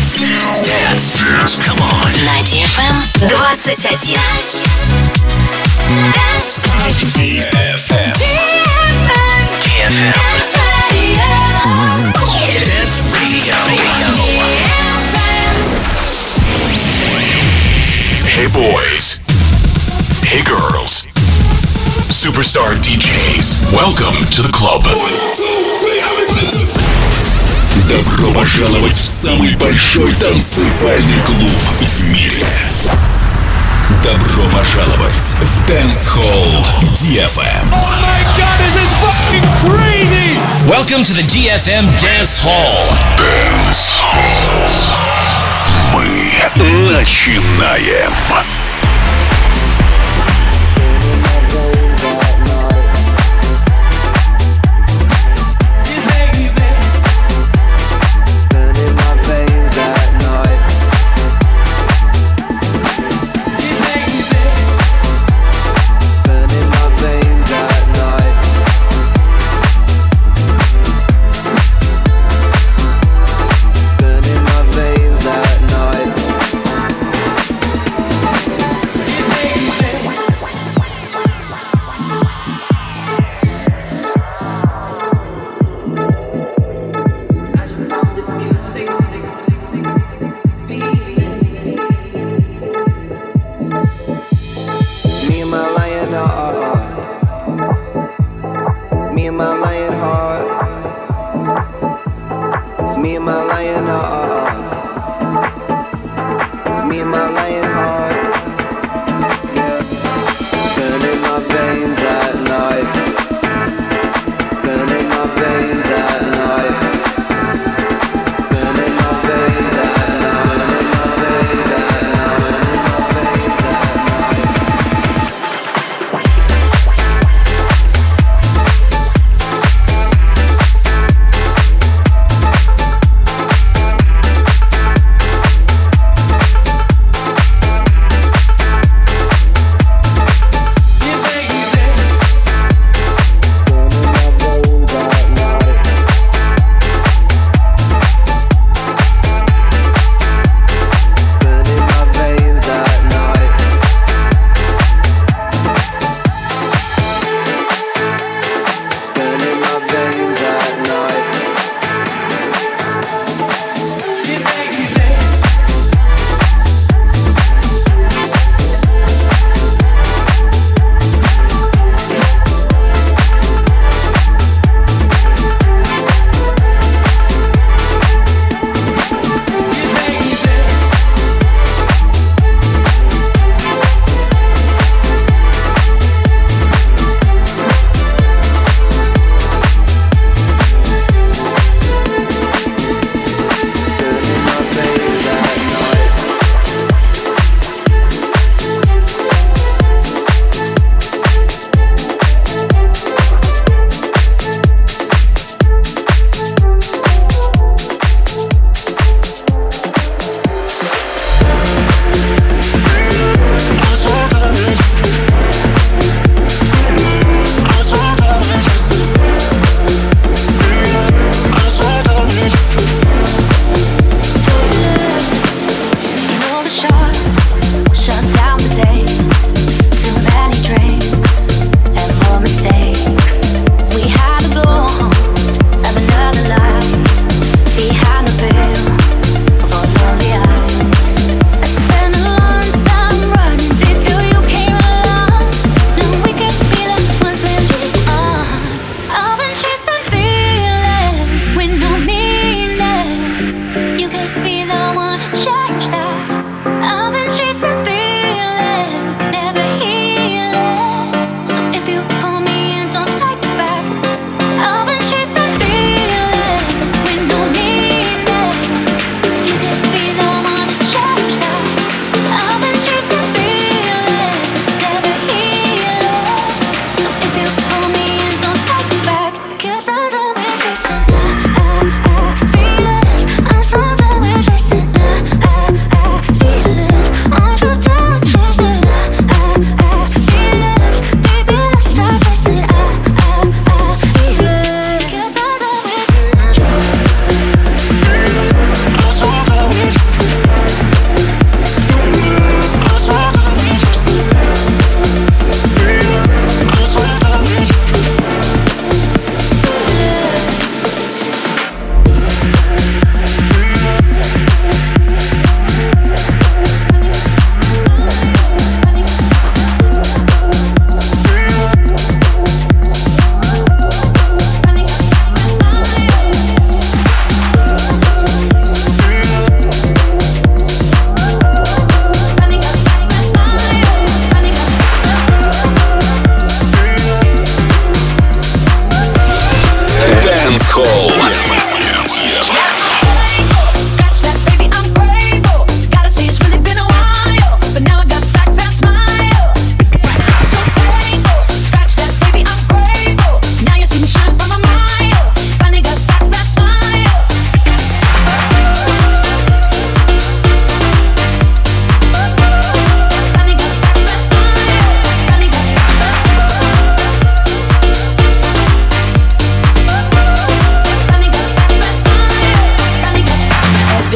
Dance. Come on. На DFM 21. DFM. Dance Radio. Hey boys. Hey girls. Superstar DJs. Welcome to the club. Добро пожаловать в самый большой танцевальный клуб в мире. Добро пожаловать в Dance Hall DFM. Oh my God, this is fucking crazy! Welcome to the DFM Dance Hall. Dance Hall. Мы начинаем.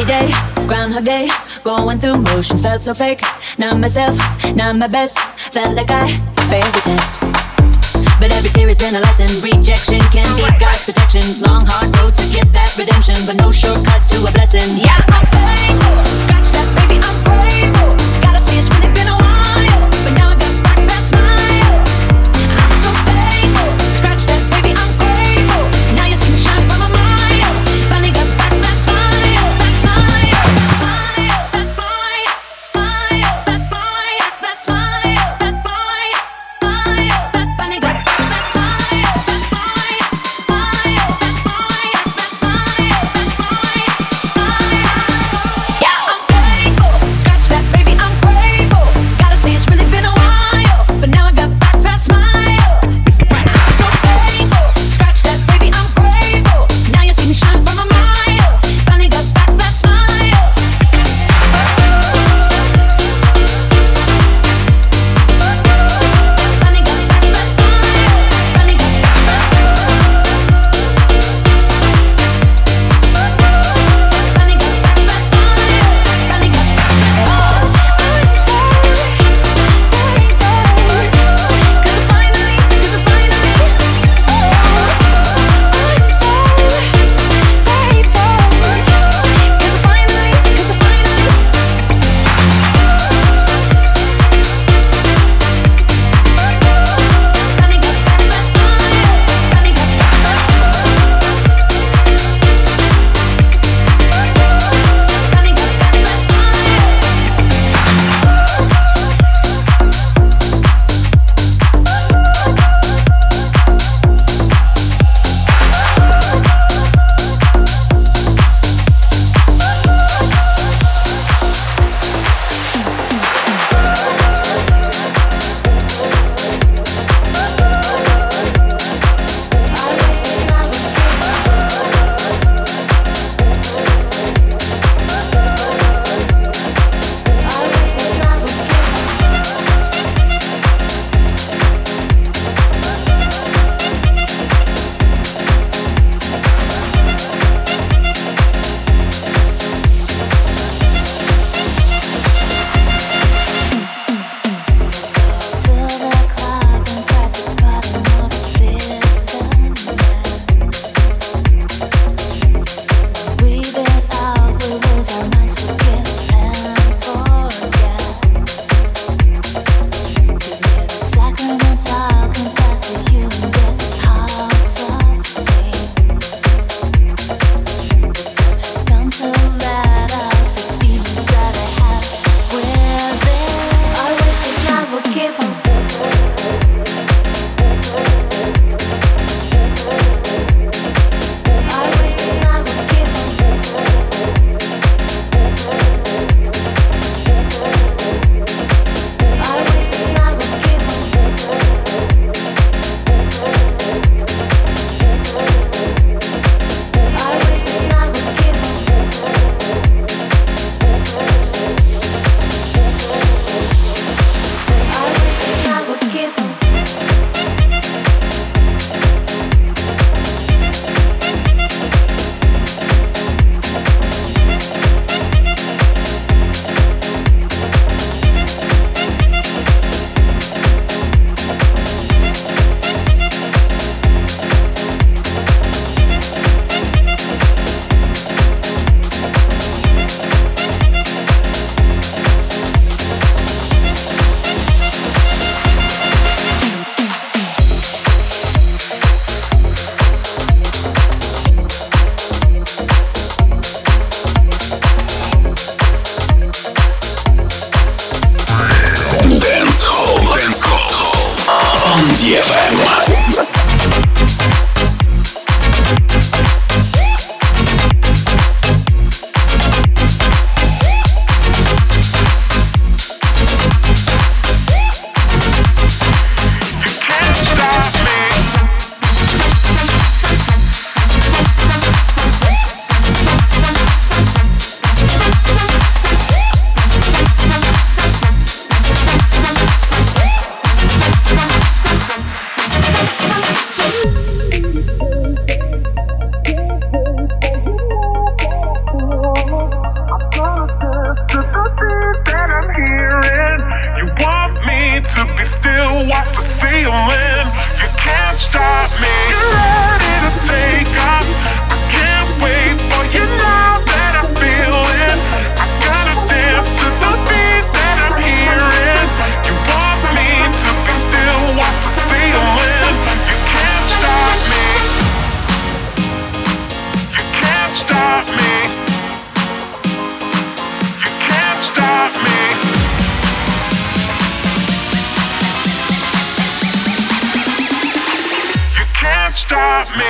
day, Groundhog Day, going through motions, felt so fake. Not myself, not my best, felt like I failed the test. But every tear has been a lesson. Rejection can be God's protection. Long hard road to get that redemption, but no shortcuts to a blessing. Yeah, I'm faithful, scratch that baby, I'm grateful. Gotta say it's really been a while, but now I got back that smile. I'm so faithful, scratch that baby, I'm grateful. Now you see me shine from a mile. Finally got back that smile, that smile, that smile, that smile, that smile, that smile, that smile, that finally got back that smile, that smile, that smile, that smile, that smile. Stop me.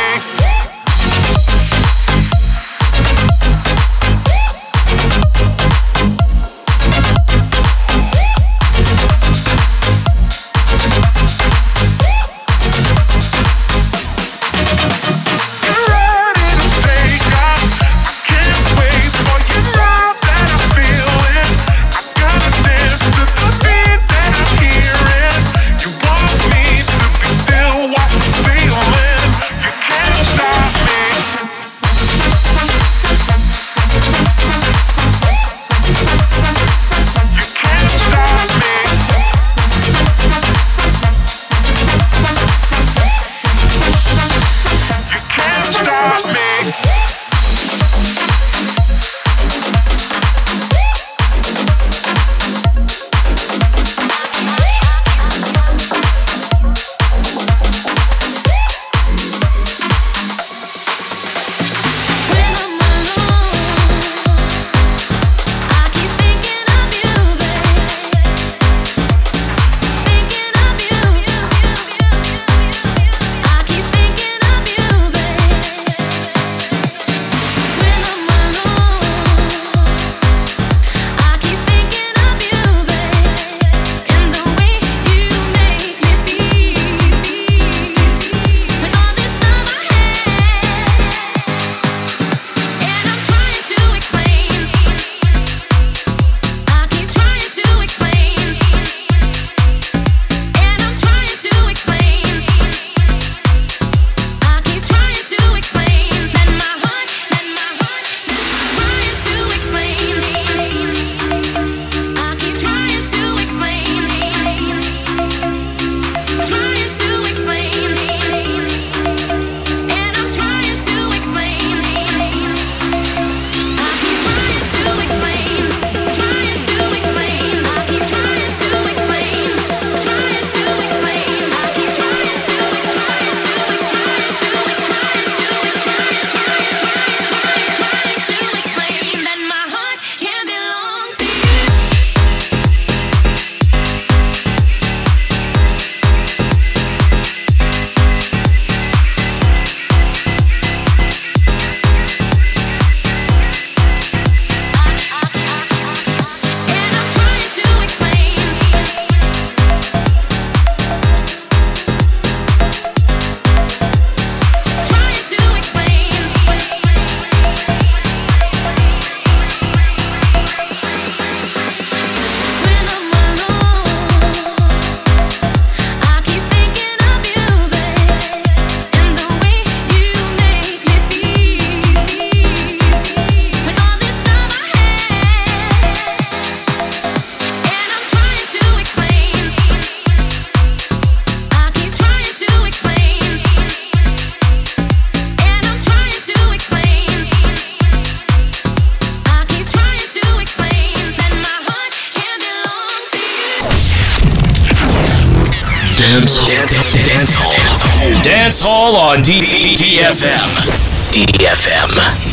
Dance Hall on DFM. DFM.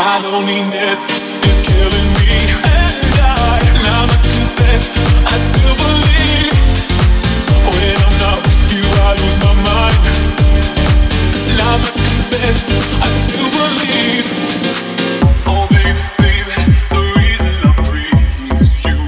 My loneliness is killing me, and I must confess, I still believe. When I'm not with you, I lose my mind. And I must confess, I still believe. Oh baby, baby, the reason I breathe is you.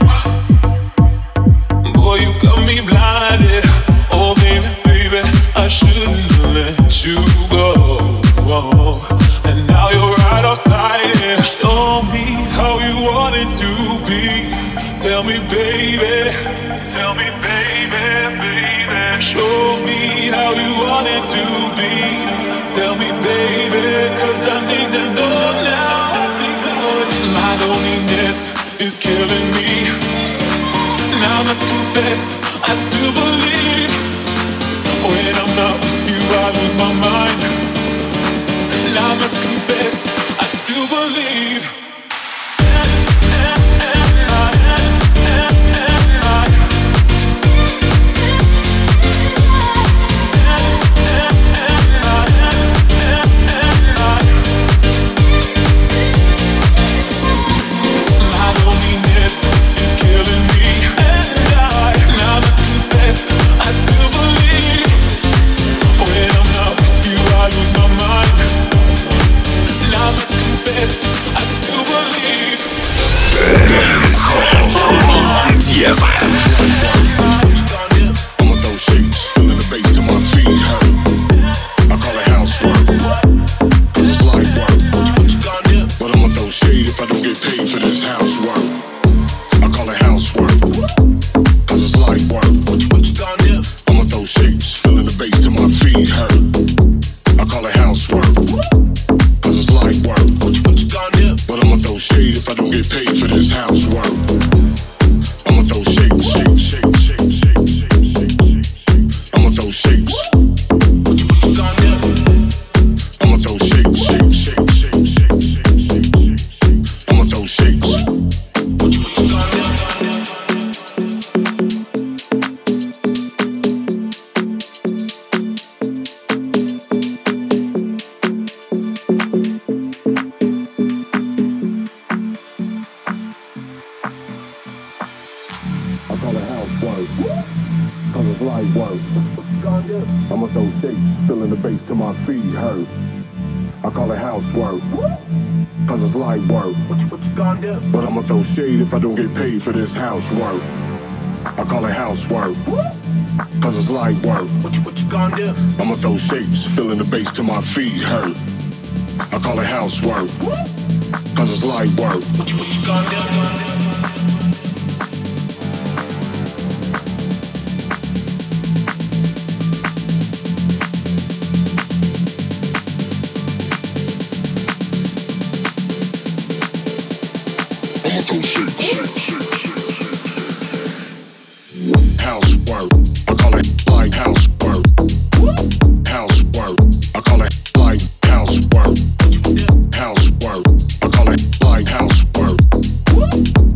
Boy, you got me blinded. Oh baby, baby, I shouldn't have let you go. And now you're right outside it. Show me how you want it to be. Tell me, baby. Tell me, baby, baby. Show me how you want it to be. Tell me, baby, 'cause I need to know now. Because my loneliness is killing me. And I must confess, I still believe. When I'm not with you, I lose my mind. And I must confess, I still believe. My loneliness is killing me, and I must confess, I still believe. When I'm not with you, I lose my mind. And I must confess, I still believe. Dance Hall DFM. I'ma throw shapes, feeling the bass to my feet hurt. I call it housework, 'cause it's light work. But I'ma throw shade if I don't get paid for this housework. I call it housework, 'cause it's light work. I'ma throw shapes, feeling the bass to my feet hurt. I call it housework, 'cause it's light work. But I'ma throw shade if I don't get paid for this housework. I'ma throw shapes, I'ma throw shapes. I'ma throw shapes, I'ma throw shapes. I call it housework, 'cause it's light work. I'ma throw shapes, feeling the bass to my feet hurt. I call it housework, 'cause it's light work. But I'ma throw shade if I don't get paid for this housework. I call it housework, 'cause it's light work. I'ma throw shapes, feeling the bass to my feet hurt. I call it housework, 'cause it's light work. Housework, I call it light housework. Housework, I call it light housework. Housework, I call it light housework.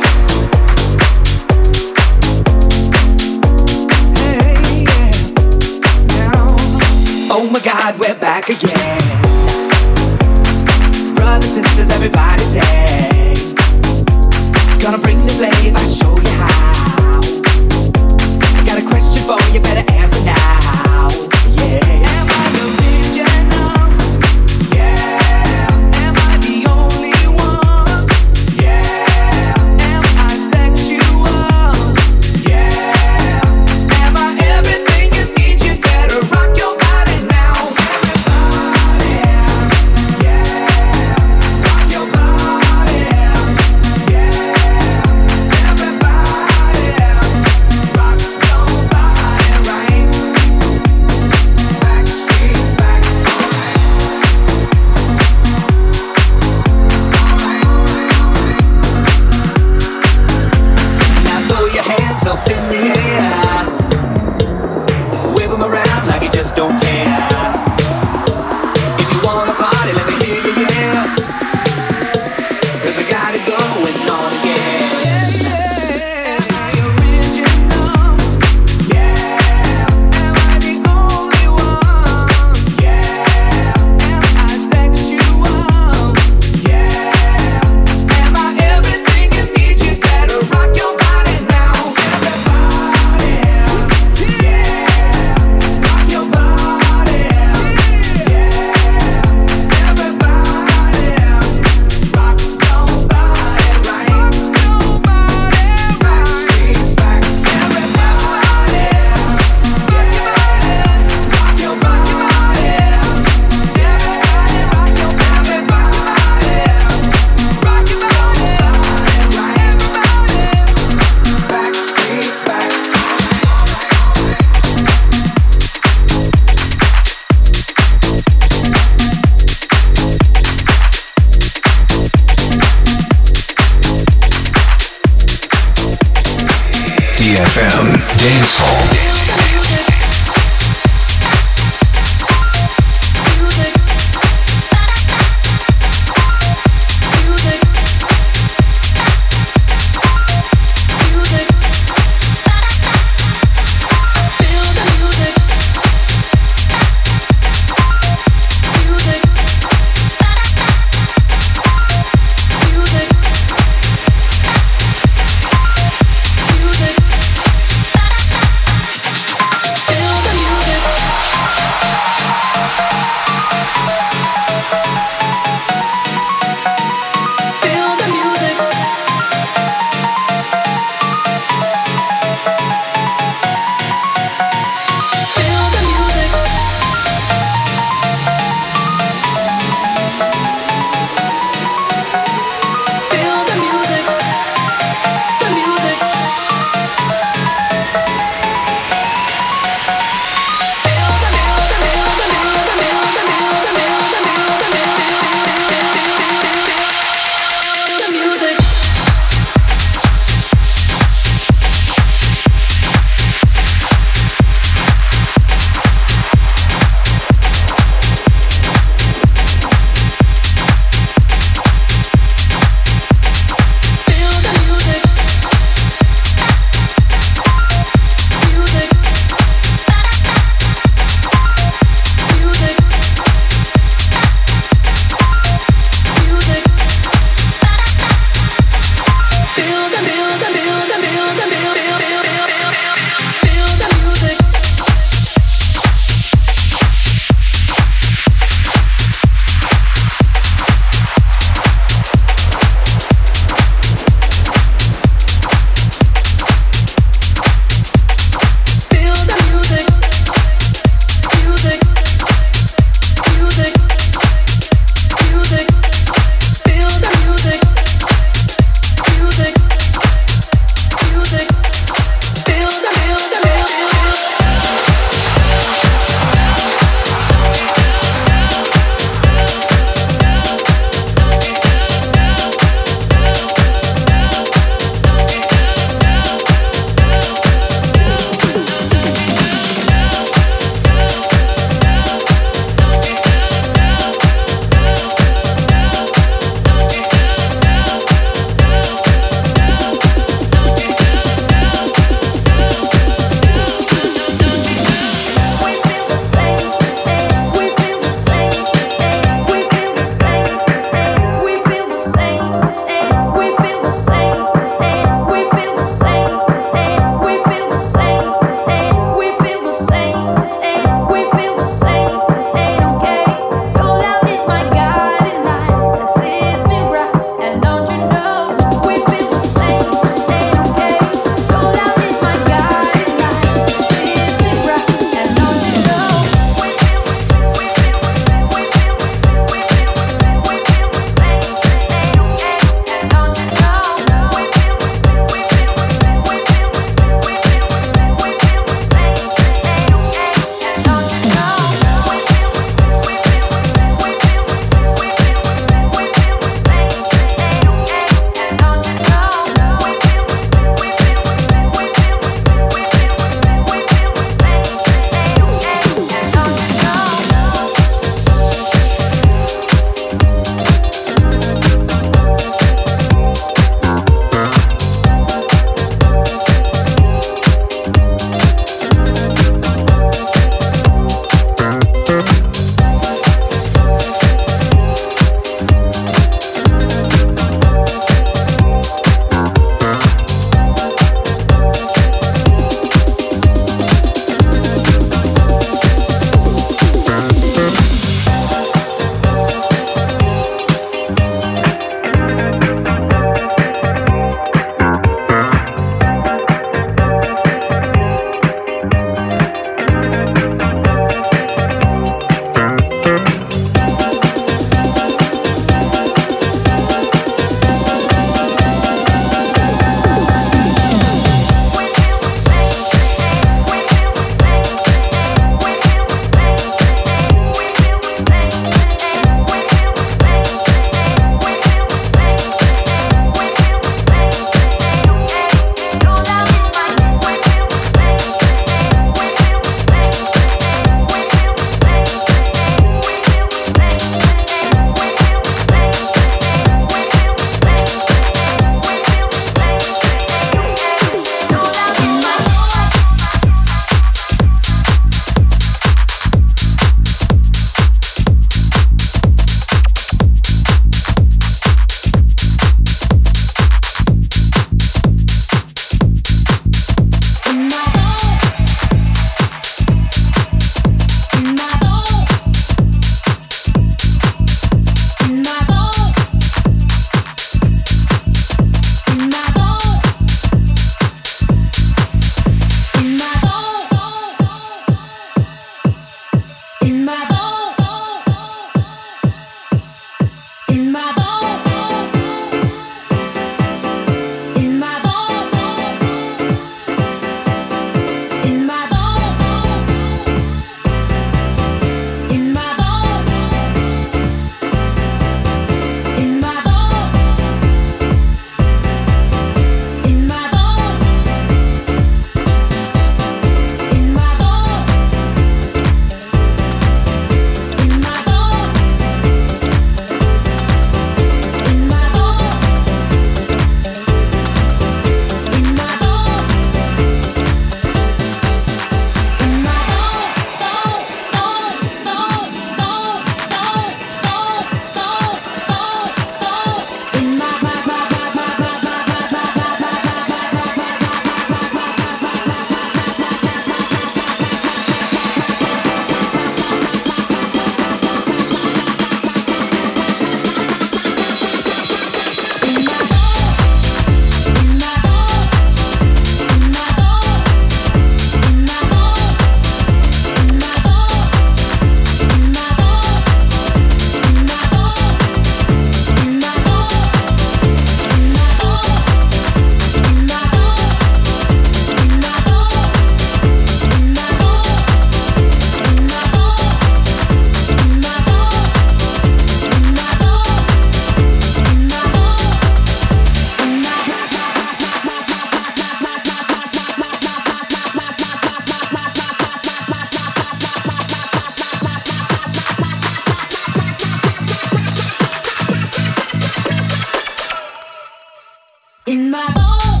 in my bones.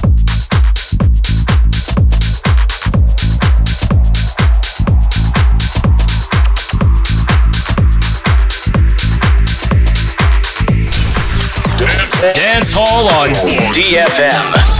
Dance Hall on DFM.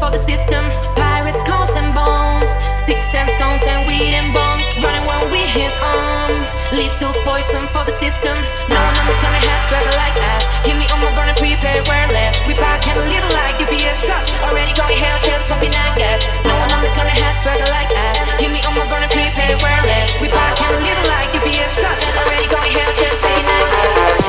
for the system. Pirates, clothes and bones, sticks and stones and weed and bombs. Running when we hit lethal poison for the system. No one on the corner has struggle like us. Hit me on my burner, prepared, wear less. We park and live like UPS trucks. Already going hell, just pumping I gas. No one on the corner has struggle like us. Hit me on my burner, prepared, wear less. We park and live like UPS trucks. Already going hell, just pumping I gas.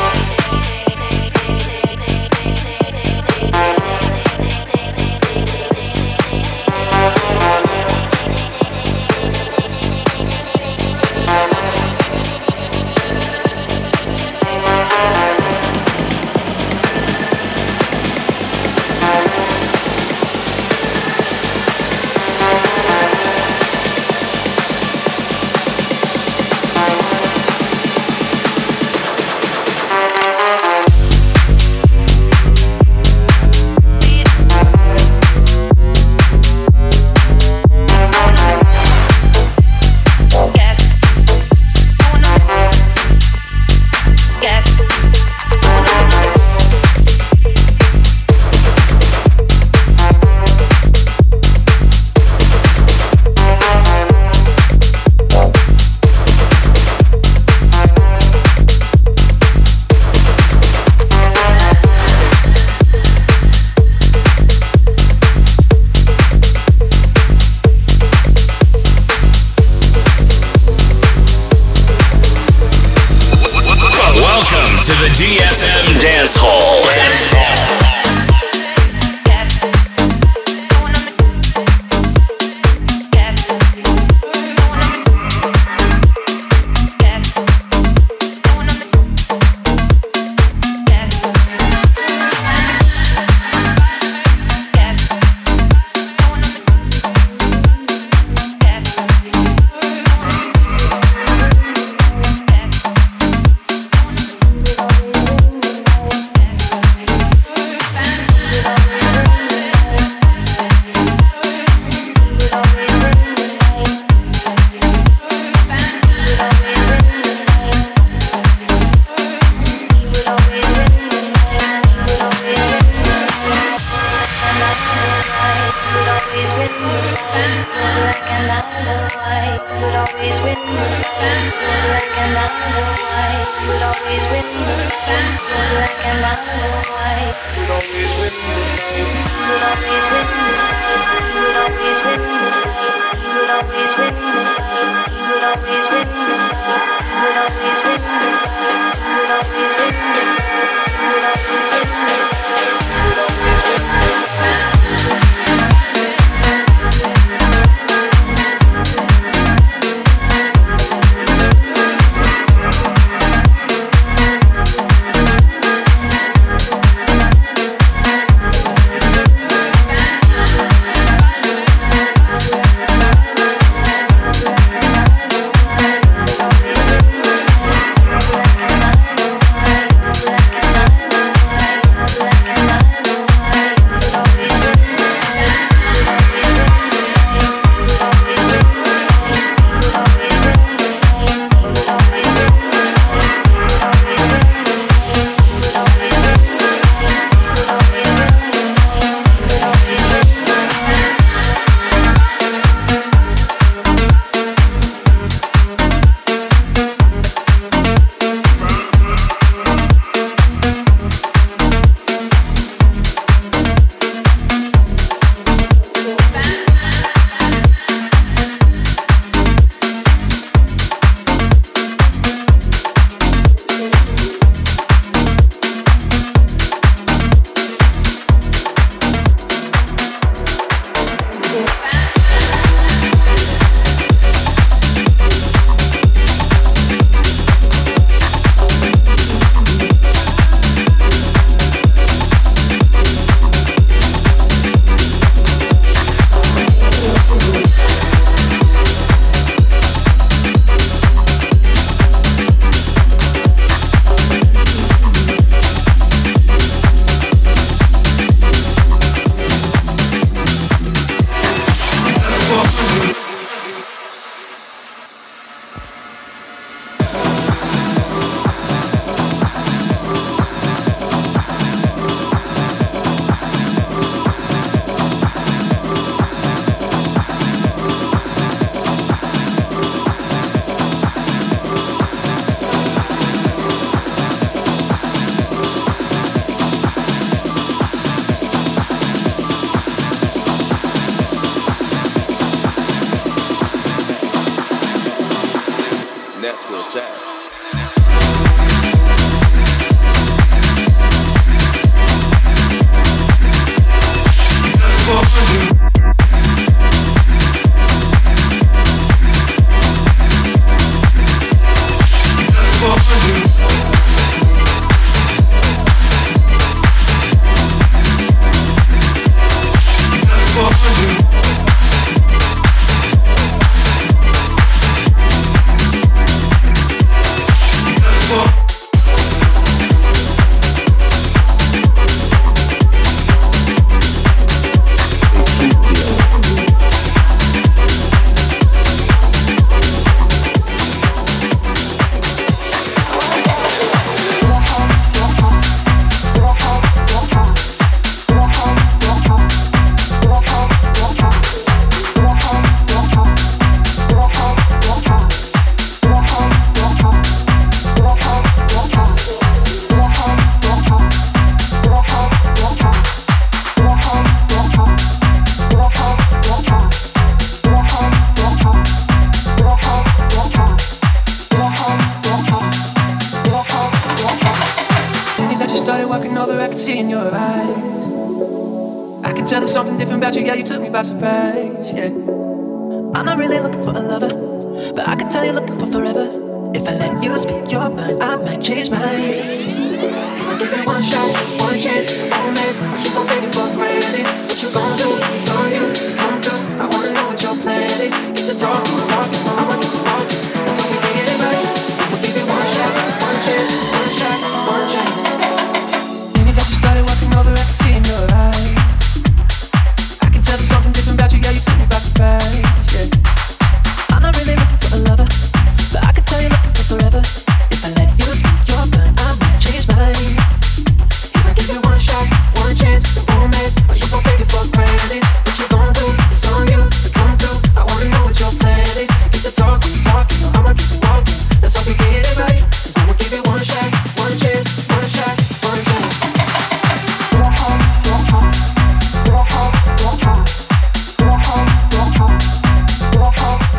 that's where it's at. By surprise, yeah. I'm not really looking for a lover, but I can tell you're looking for forever. If I let you speak your mind, I might change mine. If you give it one shot, one chance, I will miss.